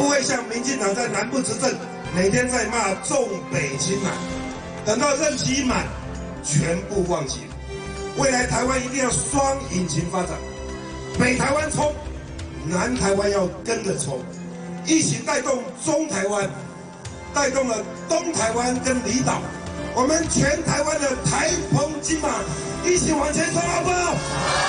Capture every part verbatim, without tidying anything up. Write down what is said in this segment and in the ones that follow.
不會像民進黨在南部執政，每天在罵重北輕南，等到任期一滿，全部忘記。未來台灣一定要雙引擎發展，北台灣衝，南台灣要跟着衝，一起帶動中台灣，帶動了東台灣跟離島，我們全台灣的台澎金馬一起往前衝，好不好？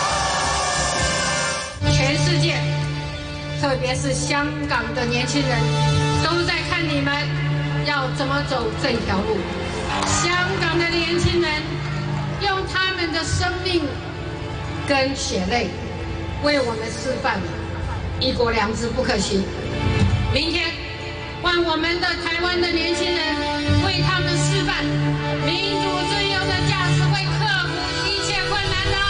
全世界，特別是香港的年輕人，都在看你們要怎麼走這條路。香港的年輕人用他們的生命跟血淚為我們示範一國兩制不可行。明天換我們的台灣的年輕人為他們示範民主自由的價值，會克服一切困難的。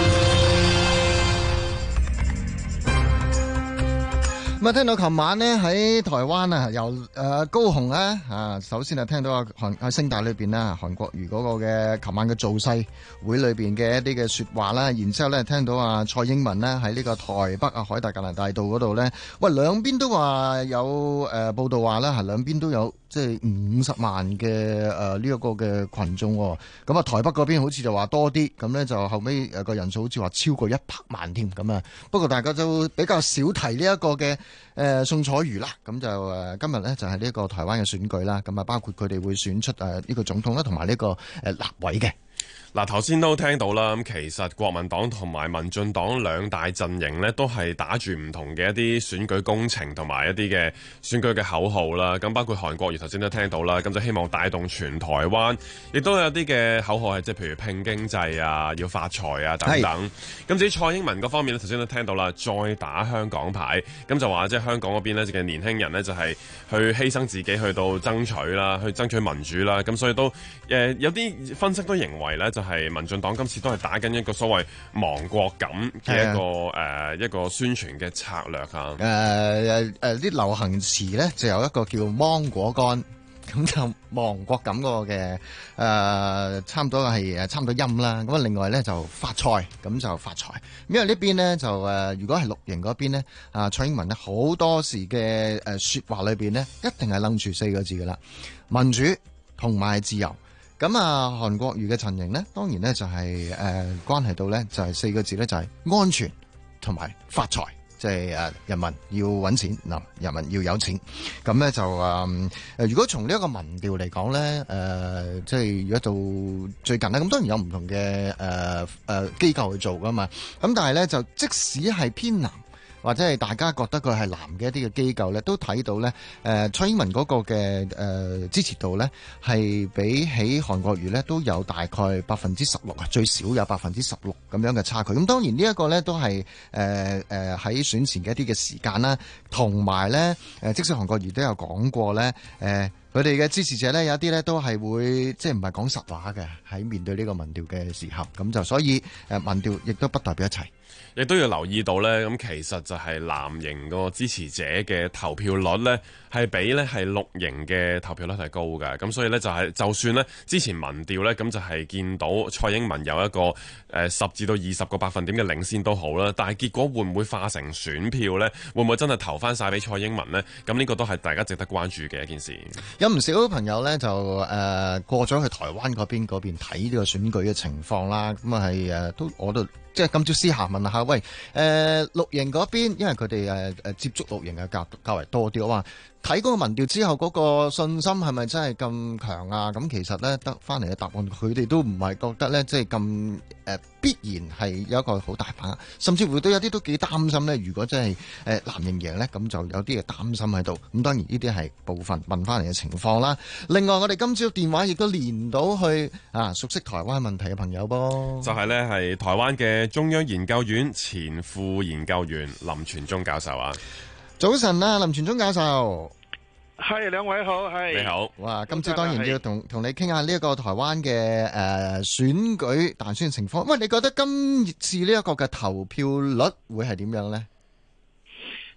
咁啊，聽到琴晚呢喺台灣啊，由誒、呃、高雄咧啊，首先啊聽到啊韓喺聲帶裏邊啦，韓國瑜嗰個嘅琴晚嘅造勢會裏邊嘅一啲嘅說話啦，然之後咧聽到啊蔡英文咧喺呢個台北啊海達格蘭大道嗰度咧，喂兩邊都話有誒、呃、報道話啦，係兩邊都有即係五十萬嘅誒呢一個嘅群眾，咁啊台北嗰邊好似就話多啲，咁咧就後尾誒個人數好似話超過一百萬添，咁啊不過大家就比較少提呢一個嘅。誒、呃、宋楚瑜啦，咁就誒、呃、今日咧就係、是、呢個台灣嘅選舉啦，咁啊包括佢哋會選出誒呢、呃這個總統啦，同埋呢個誒、呃、立委嘅。 嗱，頭先都聽到啦，咁其實國民黨同埋民進黨兩大陣營呢，都係打住唔同嘅一啲選舉工程同埋一啲嘅選舉嘅口號啦。咁包括韓國瑜頭先都聽到啦，咁就希望帶動全台灣，亦都有啲嘅口號係即係譬如拼經濟啊、要發財啊等等。咁至於蔡英文嗰方面呢，頭先都聽到啦，再打香港牌，咁就話即係香港嗰邊呢嘅年輕人呢，就係去犧牲自己去到爭取啦，去爭取民主啦。咁所以都誒、呃、有啲分析都認為呢。就係民進黨今次都係打緊一個所謂亡國感嘅一個誒、呃、一個宣傳嘅策略啊。誒誒誒啲流行詞咧就有一個叫芒果乾，咁就亡國感嗰個嘅誒、呃、差唔多係誒差唔多音啦。咁啊另外咧就發財，咁就發財。因為呢邊咧就誒、呃、如果係綠營嗰邊咧啊蔡英文咧好多時嘅誒説話裏邊咧一定係楞住四個字噶啦，民主同埋自由。咁啊，韓國瑜嘅陣營呢，當然呢就係、是、誒、呃、關係到呢，就係、是、四個字呢，就係、是、安全同埋發財，即係誒人民要揾錢嗱，人民要有錢。咁呢就誒、呃、如果從呢一個民調嚟講呢，誒、呃、即係如果到最近呢，咁當然有唔同嘅誒誒機構去做噶嘛。咁但係呢，就即使係偏藍，或者係大家覺得佢係藍嘅一啲嘅機構咧，都睇到咧，誒、呃、蔡英文嗰個嘅誒、呃、支持度咧，係比起韓國瑜咧都有大概百分之十六啊，最少有百分之十六咁樣嘅差距。咁當然呢一個咧都係誒誒喺選前嘅一啲嘅時間啦，同埋咧誒，即使韓國瑜都有講過咧，誒佢哋嘅支持者咧有一啲咧都係會即係唔係講實話嘅，喺面對呢個民調嘅時候，咁就所以誒民調亦都不代表一切。 亦都要留意到呢，咁其實就係藍營個支持者嘅投票率呢，係比呢係綠營嘅投票率係高嘅。咁所以呢，就係就算呢之前民調呢，咁就係見到蔡英文有一個誒十至到二十個百分點嘅領先都好啦，但係結果會唔會化成選票呢？會唔會真係投翻晒俾蔡英文呢？咁呢個都係大家值得關注嘅一件事。 有唔少朋友呢，就誒、呃、過咗去台灣嗰邊嗰邊睇呢個選舉嘅情況啦。咁啊係誒都我都。即係今朝私下問下，喂，誒、呃、綠營嗰邊，因為佢哋誒誒接觸綠營嘅較較為多啲，我話睇嗰個民調之後，嗰、那個信心係咪真係咁強啊？咁其實咧得翻嚟嘅答案，佢哋都唔係覺得咧，即係咁誒必然係有一個好大把握，甚至乎都有啲都幾擔心咧。如果真係誒藍營贏咧，咁就有啲嘅擔心喺度。咁當然呢啲係部分問翻嚟嘅情況啦。另外，我哋今朝電話亦都連到去啊，熟悉台灣問題嘅朋友噃， 就係咧係台灣嘅中央研究院前副研究員林全忠教授啊。 早晨啊，林全忠教授， 係兩位好，係你好。 哇，今朝當然要同同你傾下呢一個台灣嘅誒選舉大選情況。喂，你覺得今次呢一個嘅投票率會係點樣呢？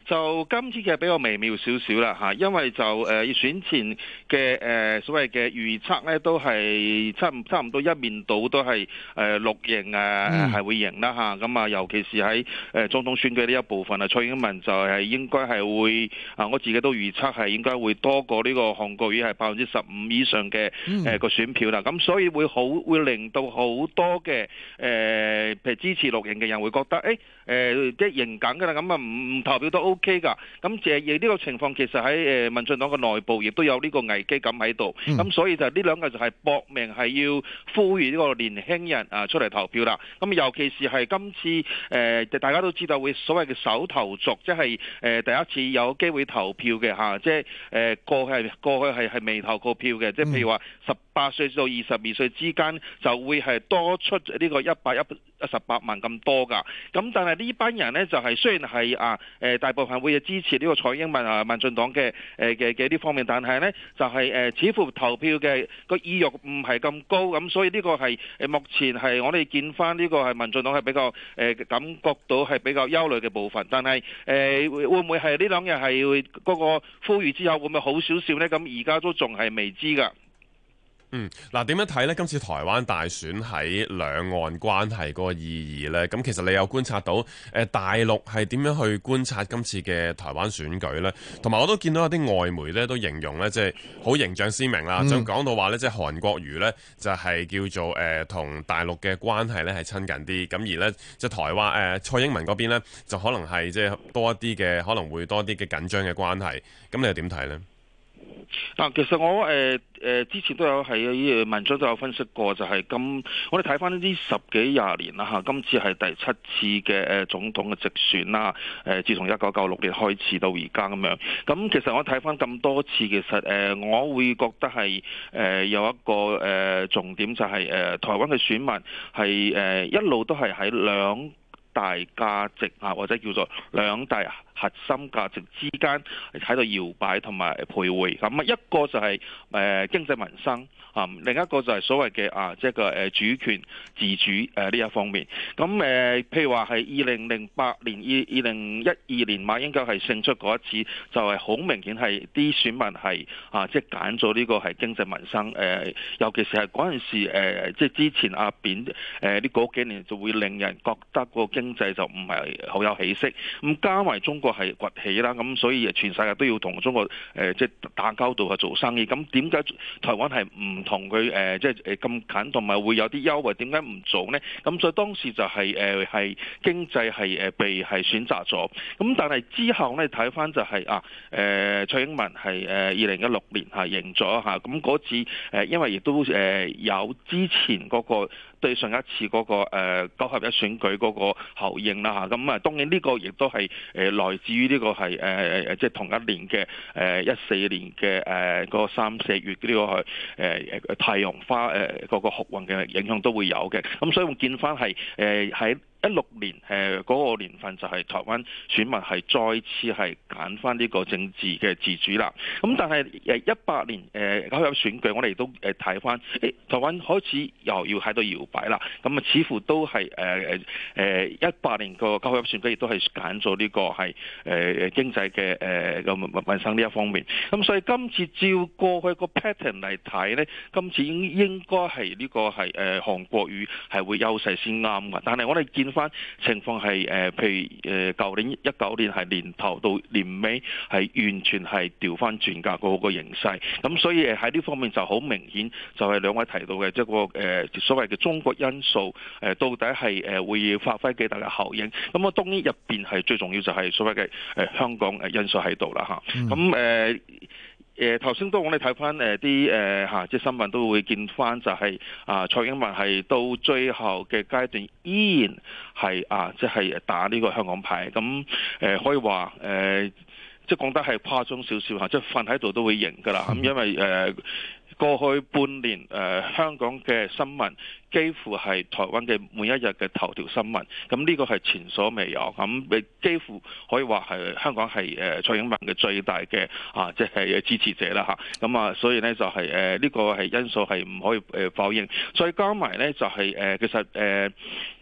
就今次嘅比較微妙少少啦嚇，因為就誒、呃、選前嘅誒、呃、所謂嘅預測咧，都係差唔差唔多一面倒都係誒綠營誒係、呃、會贏啦嚇。咁啊，尤其是喺誒、呃、總統選舉呢一部分啊，蔡英文就係應該係會啊，我自己都預測係應該會多過呢個韓國瑜係百分之十五以上嘅誒個選票啦。咁所以會好會令到好多嘅誒、呃、譬如支持綠營嘅人會覺得誒誒即係贏緊㗎啦，咁啊唔唔投票都 O K 㗎。咁誒亦呢個情況其實喺誒民進黨嘅內部亦都有呢個危機感喺度。咁、嗯、所以就呢兩個就係搏命係要呼籲呢個年輕人啊出嚟投票啦。咁尤其是係今次誒、呃、大家都知道會所謂嘅首投族，即係誒第一次有機會投票嘅嚇，即係誒過去係過去係係未投過票嘅，即係譬如話十八歲到二十二歲之間就會係多出呢個一百一十八萬咁多㗎。咁但係呢班人呢，就係雖然係啊誒大部分會支持呢個蔡英文啊民進黨嘅誒嘅嘅呢方面，但係呢就係、是、誒、呃、似乎投票嘅個意欲唔係咁高，咁所以呢個係誒目前係我哋見翻呢個係民進黨係比較誒、呃、感覺到係比較憂慮嘅部分。但係誒、呃、會唔會係呢兩日係嗰個呼籲之後會唔會好少少呢？咁而家都仲係未知㗎。 嗯，嗱點樣睇呢？今次台灣大選喺兩岸關係嗰個意義呢？咁其實你有觀察到誒、呃、大陸係點樣去觀察今次嘅台灣選舉呢？同埋我都見到有啲外媒呢都形容呢，即係好形象鮮明啦，就講、嗯、到話呢，即係韓國瑜呢就係、是、叫做誒同、呃、大陸嘅關係呢係親近啲，咁而呢，即係台灣誒、呃、蔡英文嗰邊呢就可能係即係多一啲嘅，可能會多啲嘅緊張嘅關係，咁你又點睇呢？ 嗱，其實我誒誒、呃、之前都有喺文章都有分析過，就係咁，我哋睇翻呢啲十幾廿年啦嚇，今次係第七次嘅誒總統嘅直選啦，誒自從一九九六年開始到而家咁樣，咁其實我睇翻咁多次，其實誒我會覺得係誒有一個誒重點就係誒台灣嘅選民係誒一路都係喺兩大價值啊，或者叫做兩大核心價值之間喺度搖擺同埋徘徊。咁啊，一個就係誒經濟民生啊，另一個就係所謂嘅啊，即係個誒主權自主誒呢一方面。咁誒，譬如話係二零零八年、二二零一二年馬英九係勝出嗰一次，就係好明顯係啲選民係啊，即係揀咗呢個係經濟民生誒，尤其是係嗰陣時誒，即係之前阿扁誒呢嗰幾年就會令人覺得個經濟就唔係好有起色。咁加埋中國係崛起啦，咁所以全世界都要同中國誒即係打交道去做生意。咁點解台灣係唔同佢誒即係誒咁近，同埋會有啲優惠？點解唔做呢？咁所以當時就係誒係經濟係誒被係選擇咗。咁但係之後呢，睇翻就係、是、啊誒蔡英文係誒二零一六年係贏咗嚇。咁嗰次誒因為亦都誒有之前嗰、那個。對上一次嗰個誒九合一選舉嗰個效應啦嚇，咁啊當然呢個亦都係誒來自於呢個係誒誒即係同一年嘅誒一四年嘅誒嗰個三四月呢個係誒誒太陽花誒嗰個酷運嘅影響都會有嘅，咁所以我見翻係誒喺一六年誒嗰個年份就係台灣選民係再次係揀翻呢個政治嘅自主啦。咁但係誒一八年誒九合一選舉，我哋都誒睇翻，誒台灣開始又要喺度搖擺啦。咁啊似乎都係誒誒誒一八年個九合一選舉亦都係揀咗呢個係誒經濟嘅誒個民生呢一方面。咁所以今次照過去個 pattern 嚟睇咧，今次應應該係呢個係誒韓國瑜係會優勢先啱嘅。但係我哋見翻情況係誒，譬如誒舊年一九年係年頭到年尾係完全係調翻轉㗎嗰個形勢，咁所以誒喺呢方面就好明顯，就係兩位提到嘅即係個誒所謂嘅中國因素誒，到底係誒會發揮幾大嘅效應？咁啊當然入邊係最重要就係所謂嘅誒香港誒因素喺度啦嚇，咁誒。呃誒頭先都我哋睇翻誒啲誒嚇，即係新聞都會見翻就係、是、啊蔡英文係到最後嘅階段依然係啊即係、就是、打呢個香港牌，咁誒、呃、可以話誒、呃、即係講得係誇張少少嚇，即係瞓喺度都會贏㗎啦。咁因為誒、呃、過去半年誒、呃、香港嘅新聞幾乎係台灣嘅每一日嘅頭條新聞，咁呢個係前所未有，咁你幾乎可以話係香港係誒蔡英文嘅最大嘅啊，即係支持者啦嚇，咁啊，所以呢，就係誒呢個係因素係唔可以誒否認，再加埋呢，就係誒其實誒。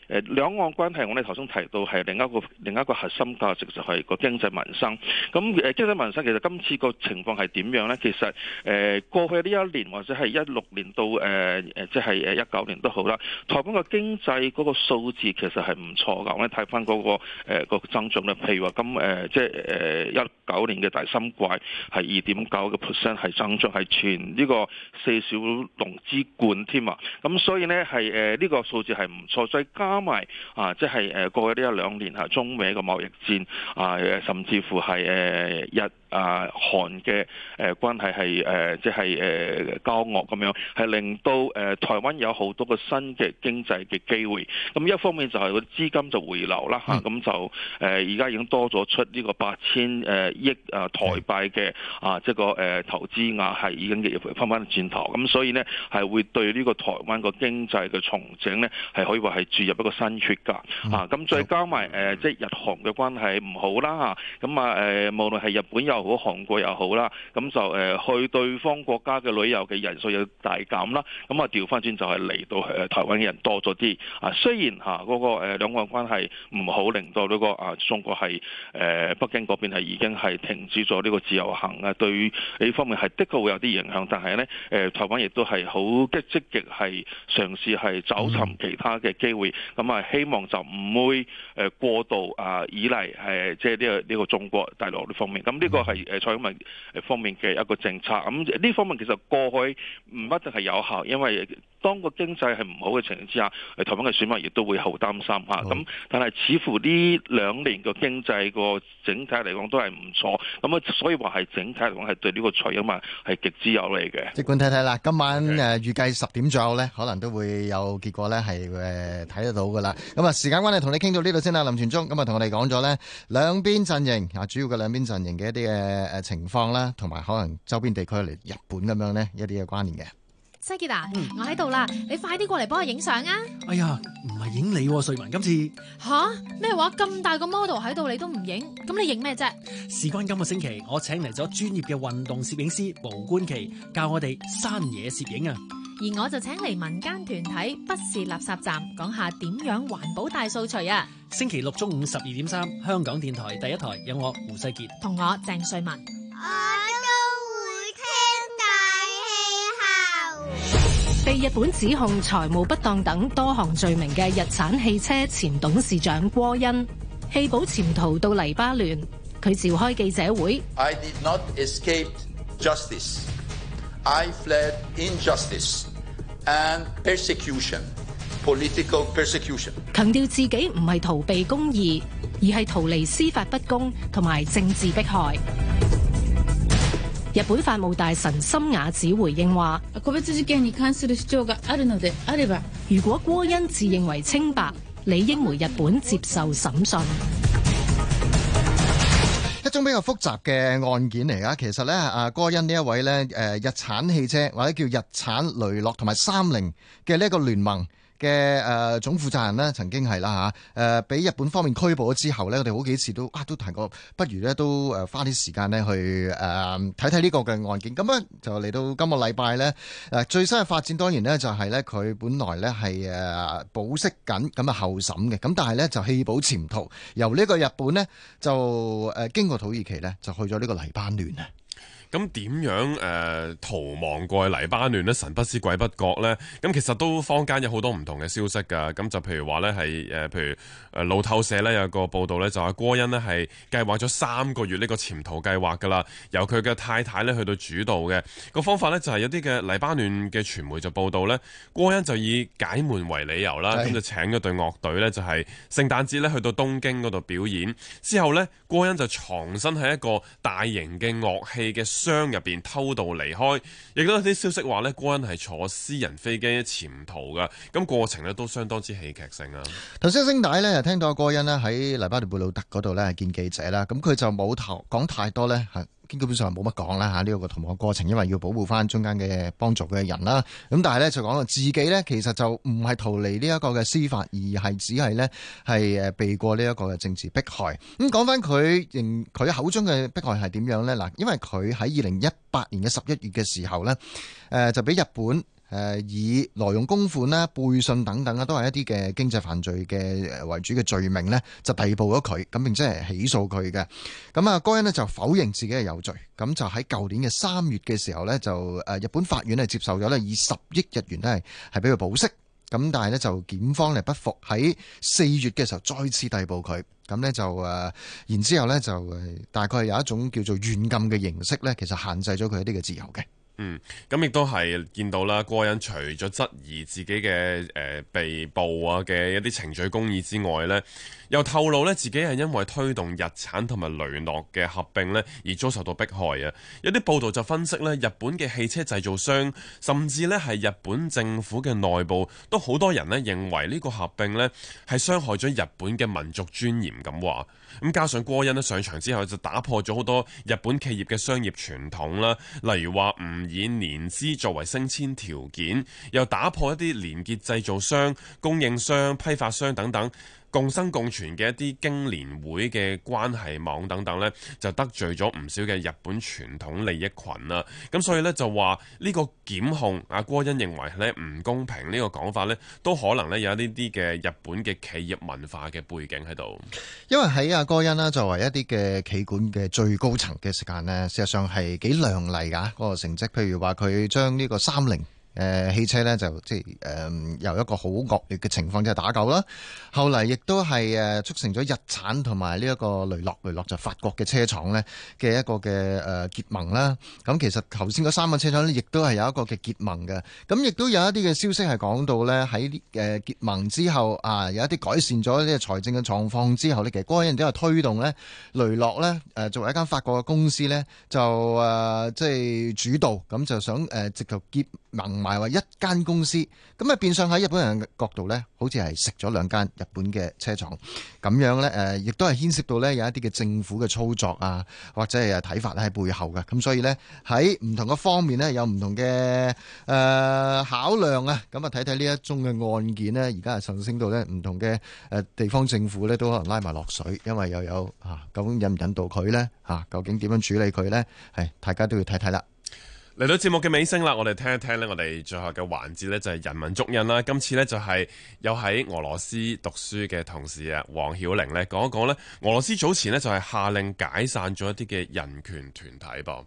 誒兩岸關係，我哋頭先提到係另一個另一個核心價值就係個經濟民生。咁誒經濟民生其實今次個情況係點樣呢？其實誒過去呢一年或者係一六年到誒誒即係誒一九年都好啦，台灣個經濟嗰個數字其實係唔錯㗎。我哋睇翻嗰個誒、呃嗰個增長咧，譬如話咁誒即係誒一九年嘅第三季係二點九個 percent 係增長，係全呢個四小龍之冠添啊！咁所以呢，係誒呢個數字係唔錯，再加埋啊即係誒過去呢一兩年嚇中美嘅貿易戰啊，甚至乎係誒日啊韓嘅誒關係係誒即係誒交惡咁樣，係令到誒台灣有好多個新嘅經濟嘅機會。咁一方面就係個資金就回流啦嚇，咁就誒而家已經多咗出呢個八千誒億啊台幣嘅啊即係個誒投資額係已經翻翻轉頭，咁所以呢，係會對呢個台灣個經濟嘅重整呢，係可以話係注入一個新血㗎啊！咁再加埋誒即係日韓嘅關係唔好啦嚇，咁啊誒無論係日本又好韓國又好啦，咁就誒去對方國家嘅旅遊嘅人數又大減啦，咁啊調翻轉就係嚟到誒台灣嘅人多咗啲啊！雖然嚇嗰個誒兩岸關係唔好，令到呢個啊中國係誒北京嗰邊係已經係停止咗呢個自由行啊，對呢方面係的確會有啲影響，但係呢，誒台灣亦都係好積積極係嘗試係找尋其他嘅機會，咁啊希望就唔會誒過度啊依賴誒即係呢個呢個中國大陸呢方面，咁呢個係誒蔡英文方面嘅一個政策，咁呢方面其實過去唔一定係有效，因為當個經濟係唔好嘅情形之下，台灣嘅選民亦都會好擔心嚇。咁但係似乎呢兩年個經濟個整體嚟講都係唔錯，咁啊所以話係整體嚟講係對呢個蔡英文係極之有利嘅。 即管睇睇啦，今晚誒預計十點左右咧，可能都會有結果咧，係誒睇得到噶啦。咁啊時間關係，同你傾到呢度先啦，林全忠。咁啊同我哋講咗咧兩邊陣營啊，主要嘅兩邊陣營嘅一啲嘅誒情況啦，同埋可能周邊地區嚟日本咁樣咧一啲嘅關聯嘅。 西傑啊，嗯、我喺度啦，你快啲過嚟幫我影相啊！ 哎呀，唔係影你，瑞文今次吓咩話？咁大個 model 喺度，你都唔影？咁你影咩啫？ 事關今個星期，我請嚟咗專業嘅運動攝影師毛冠琪，教我哋山野攝影啊！ 而我就請嚟民間團體不是垃圾站，講下點樣環保大掃除啊！ 星期六中午十二點三，香港電台第一台有我胡世傑同我鄭瑞文。被日本指控財務不當等多項罪名嘅日產汽車前董事長郭恩棄保潛逃到黎巴嫩，佢召開記者會。 I did not escape justice. I fled injustice and persecution, political persecution. 強調自己唔係逃避公義，而係逃離司法不公同埋政治迫害。日本法務大臣森雅子回應話：如果郭恩自認為清白，理應回日本接受審訊。 一種比較複雜嘅案件嚟㗎，其實咧，阿郭恩呢一位咧，誒日產汽車或者叫日產雷諾同埋三菱嘅呢一個聯盟嘅誒、呃、總負責人呢，曾經係啦嚇，誒俾日本方面拘捕咗之後呢，我哋好幾次都啊都提過，不如呢都誒花啲時間呢去誒睇睇呢個嘅案件。咁咧就嚟到今個禮拜呢，誒最新嘅發展當然呢就係呢，佢本來呢係誒保釋緊咁啊候審嘅，咁但係呢就棄保潛逃，由呢個日本呢，就誒經過土耳其呢，就去咗呢個黎巴嫩啊。 咁點樣誒、呃、逃亡過去黎巴嫩呢？神不知鬼不覺呢？咁其實都坊間有好多唔同嘅消息㗎。咁就譬如話呢，係誒，譬如誒路透社呢有個報道呢，就話郭恩呢係計劃咗三個月呢個潛逃計劃㗎啦，由佢嘅太太呢去到主導嘅個方法呢，就係有啲嘅黎巴嫩嘅傳媒就報道呢，郭恩就以解悶為理由啦，咁就請咗隊樂隊呢，就係聖誕節呢去到東京嗰度表演，之後呢，郭恩就藏身喺一個大型嘅樂器嘅箱入邊偷渡離開，亦都有啲消息話呢，郭恩係坐私人飛機潛逃噶，咁過程呢都相當之戲劇性啊！ 頭先聲帶呢，聽到郭恩呢喺黎巴嫩貝魯特嗰度呢見記者啦，咁佢就冇頭講太多呢。基本上冇乜講啦嚇，呢個逃亡過程，因為要保護翻中間嘅幫助嘅人啦。咁但係咧就講到自己咧，其實就唔係逃離呢一個嘅司法，而係只係咧係誒避過呢一個嘅政治迫害。咁講翻佢認佢口中嘅迫害係點樣咧？嗱，因為佢喺二零一八年嘅十一月嘅時候咧，誒就俾日本誒以挪用公款啦、背信等等啦，都係一啲嘅經濟犯罪嘅為主嘅罪名咧，就逮捕咗佢，咁並且係起訴佢嘅。咁啊，該恩咧就否認自己係有罪，咁就喺舊年嘅三月嘅時候咧，就誒日本法院係接受咗咧，以十億日元咧係係俾佢保釋。咁但係咧就檢方咧不服，喺四月嘅時候再次逮捕佢，咁咧就誒，然之後咧就誒大概有一種叫做軟禁嘅形式咧，其實限制咗佢一啲嘅自由嘅。 嗯，咁亦都係見到啦，該恩除咗質疑自己嘅誒、呃、被捕啊嘅一啲程序公義之外呢，又透露呢自己係因為推動日產同埋雷諾嘅合併呢而遭受到迫害啊！有啲報道就分析呢，日本嘅汽車製造商甚至呢係日本政府嘅內部都好多人呢認為呢個合併呢係傷害咗日本嘅民族尊嚴咁話。咁加上該恩呢上場之後就打破咗好多日本企業嘅商業傳統啦，例如話唔以年資作為升遷條件，又打破一啲連結製造商、供應商、批發商等等共生共存嘅一啲經年會嘅關係網等等呢，就得罪咗唔少嘅日本傳統利益群啦。咁所以呢，就話呢個檢控阿該恩認為呢唔公平呢個講法呢，都可能呢有呢啲嘅日本嘅企業文化嘅背景喺度。因為喺阿該恩啦作為一啲嘅企管嘅最高層嘅時間呢，事實上係幾亮麗㗎嗰個成績。譬如話佢將呢個三菱誒、呃、汽車咧就即係誒、呃、由一個好惡劣嘅情況即係打救啦，後嚟亦都係誒促成咗日產同埋呢一個雷諾，雷諾就法國嘅車廠咧嘅一個嘅誒、呃、結盟啦。咁其實頭先嗰三個車廠咧，亦都係有一個嘅結盟嘅。咁亦都有一啲嘅消息係講到咧喺誒結盟之後啊，有一啲改善咗呢個財政嘅狀況之後咧，其實該恩都係推動咧雷諾咧誒作為一間法國嘅公司咧，就誒即係主導咁就想誒、呃、直頭結盟埋話一間公司，咁啊變相喺日本人嘅角度呢，好似係食咗兩間日本嘅車廠咁樣呢，誒，亦都係牽涉到呢有一啲嘅政府嘅操作啊，或者係睇法咧喺背後嘅，咁所以呢，喺唔同嘅方面呢，有唔同嘅誒、呃、考量啊，咁啊睇睇呢一宗嘅案件呢，而家係上升到呢唔同嘅誒地方政府呢，都可能拉埋落水，因為又有啊究竟引唔引導佢呢？啊，究竟點樣處理佢呢？係大家都要睇睇啦。嚟到節目嘅尾聲啦，我哋聽一聽呢，我哋最後嘅環節呢，就係人文足印啦。今次呢，就係有喺俄羅斯讀書嘅同事啊，黃曉玲呢講一講呢，俄羅斯早前呢，就係下令解散咗一啲嘅人權團體噃。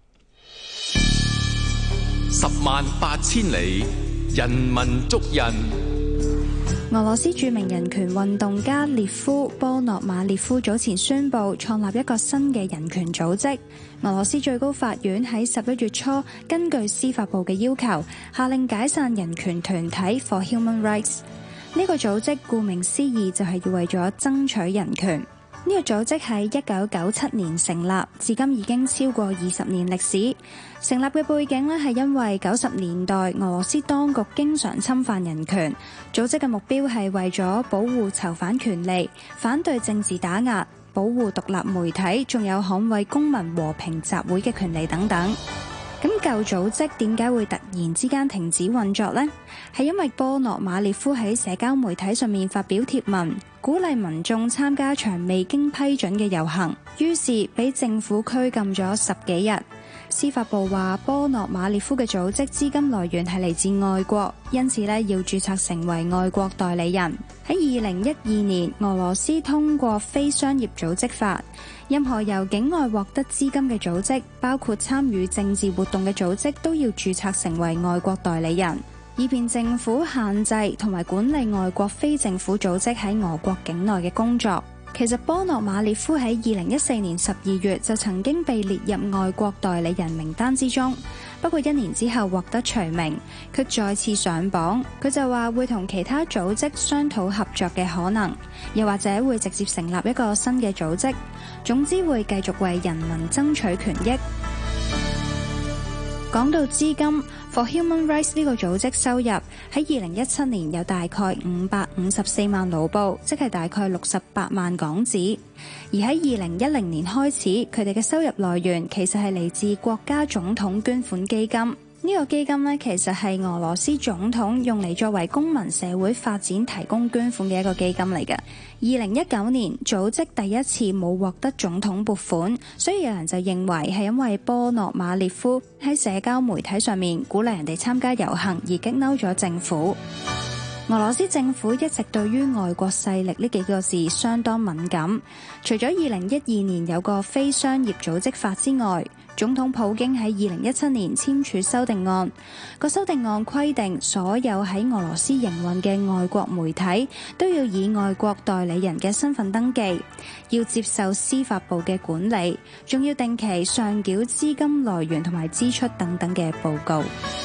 十萬八千里，人文足印。 俄羅斯著名人權運動家列夫·波諾馬列夫早前宣布創立一個新嘅人權組織。俄羅斯最高法院喺十一月初根據司法部嘅要求，下令解散人權團體 For Human Rights。呢個組織顧名思義就係要為咗爭取人權。呢個組織喺一九九七年成立，至今已經超過二十年歷史。成立嘅背景呢，係因為九十年代俄羅斯當局經常侵犯人權，組織嘅目標係為咗保護囚犯權利、反對政治打壓、保護獨立媒體，仲有捍衛公民和平集會嘅權利等等。咁舊組織點解會突然之間停止運作呢？係因為波諾馬列夫喺社交媒體上面發表貼文，鼓勵民眾參加場未經批准嘅遊行，於是俾政府拘禁咗十幾日。司法部話波諾馬列夫嘅組織資金來源係嚟自外國，因此呢要註冊成為外國代理人。喺二零一二年，俄羅斯通過非商業組織法，任何由境外獲得資金嘅組織，包括參與政治活動嘅組織，都要註冊成為外國代理人，以便政府限制同埋管理外國非政府組織喺俄國境內嘅工作。其實波諾馬列夫喺二零一四年十二月就曾經被列入外國代理人名單之中，不過一年之後獲得除名，佢再次上榜。佢就話會同其他組織商討合作嘅可能，又或者會直接成立一個新嘅組織，總之會繼續為人民爭取權益。講到資金 For Human Rights 呢個組織收入喺二零一七年有大概五百五十四萬盧布，即係大概六十八萬港紙。而喺二零一零年開始，佢哋嘅收入來源其實係嚟自國家總統捐款基金。 呢個基金呢，其實係俄羅斯總統用嚟作為公民社會發展提供捐款嘅一個基金嚟嘅。二零一九年組織第一次冇獲得總統撥款，所以有人就認為係因為波諾馬列夫喺社交媒體上面鼓勵人哋參加遊行而激嬲咗政府。俄羅斯政府一直對於外國勢力呢幾個字相當敏感，除咗二零一二年有個非商業組織法之外，總統普京喺二零一七年簽署修訂案，個修訂案規定所有喺俄羅斯營運嘅外國媒體都要以外國代理人嘅身份登記，要接受司法部嘅管理，仲要定期上繳資金來源同埋支出等等嘅報告。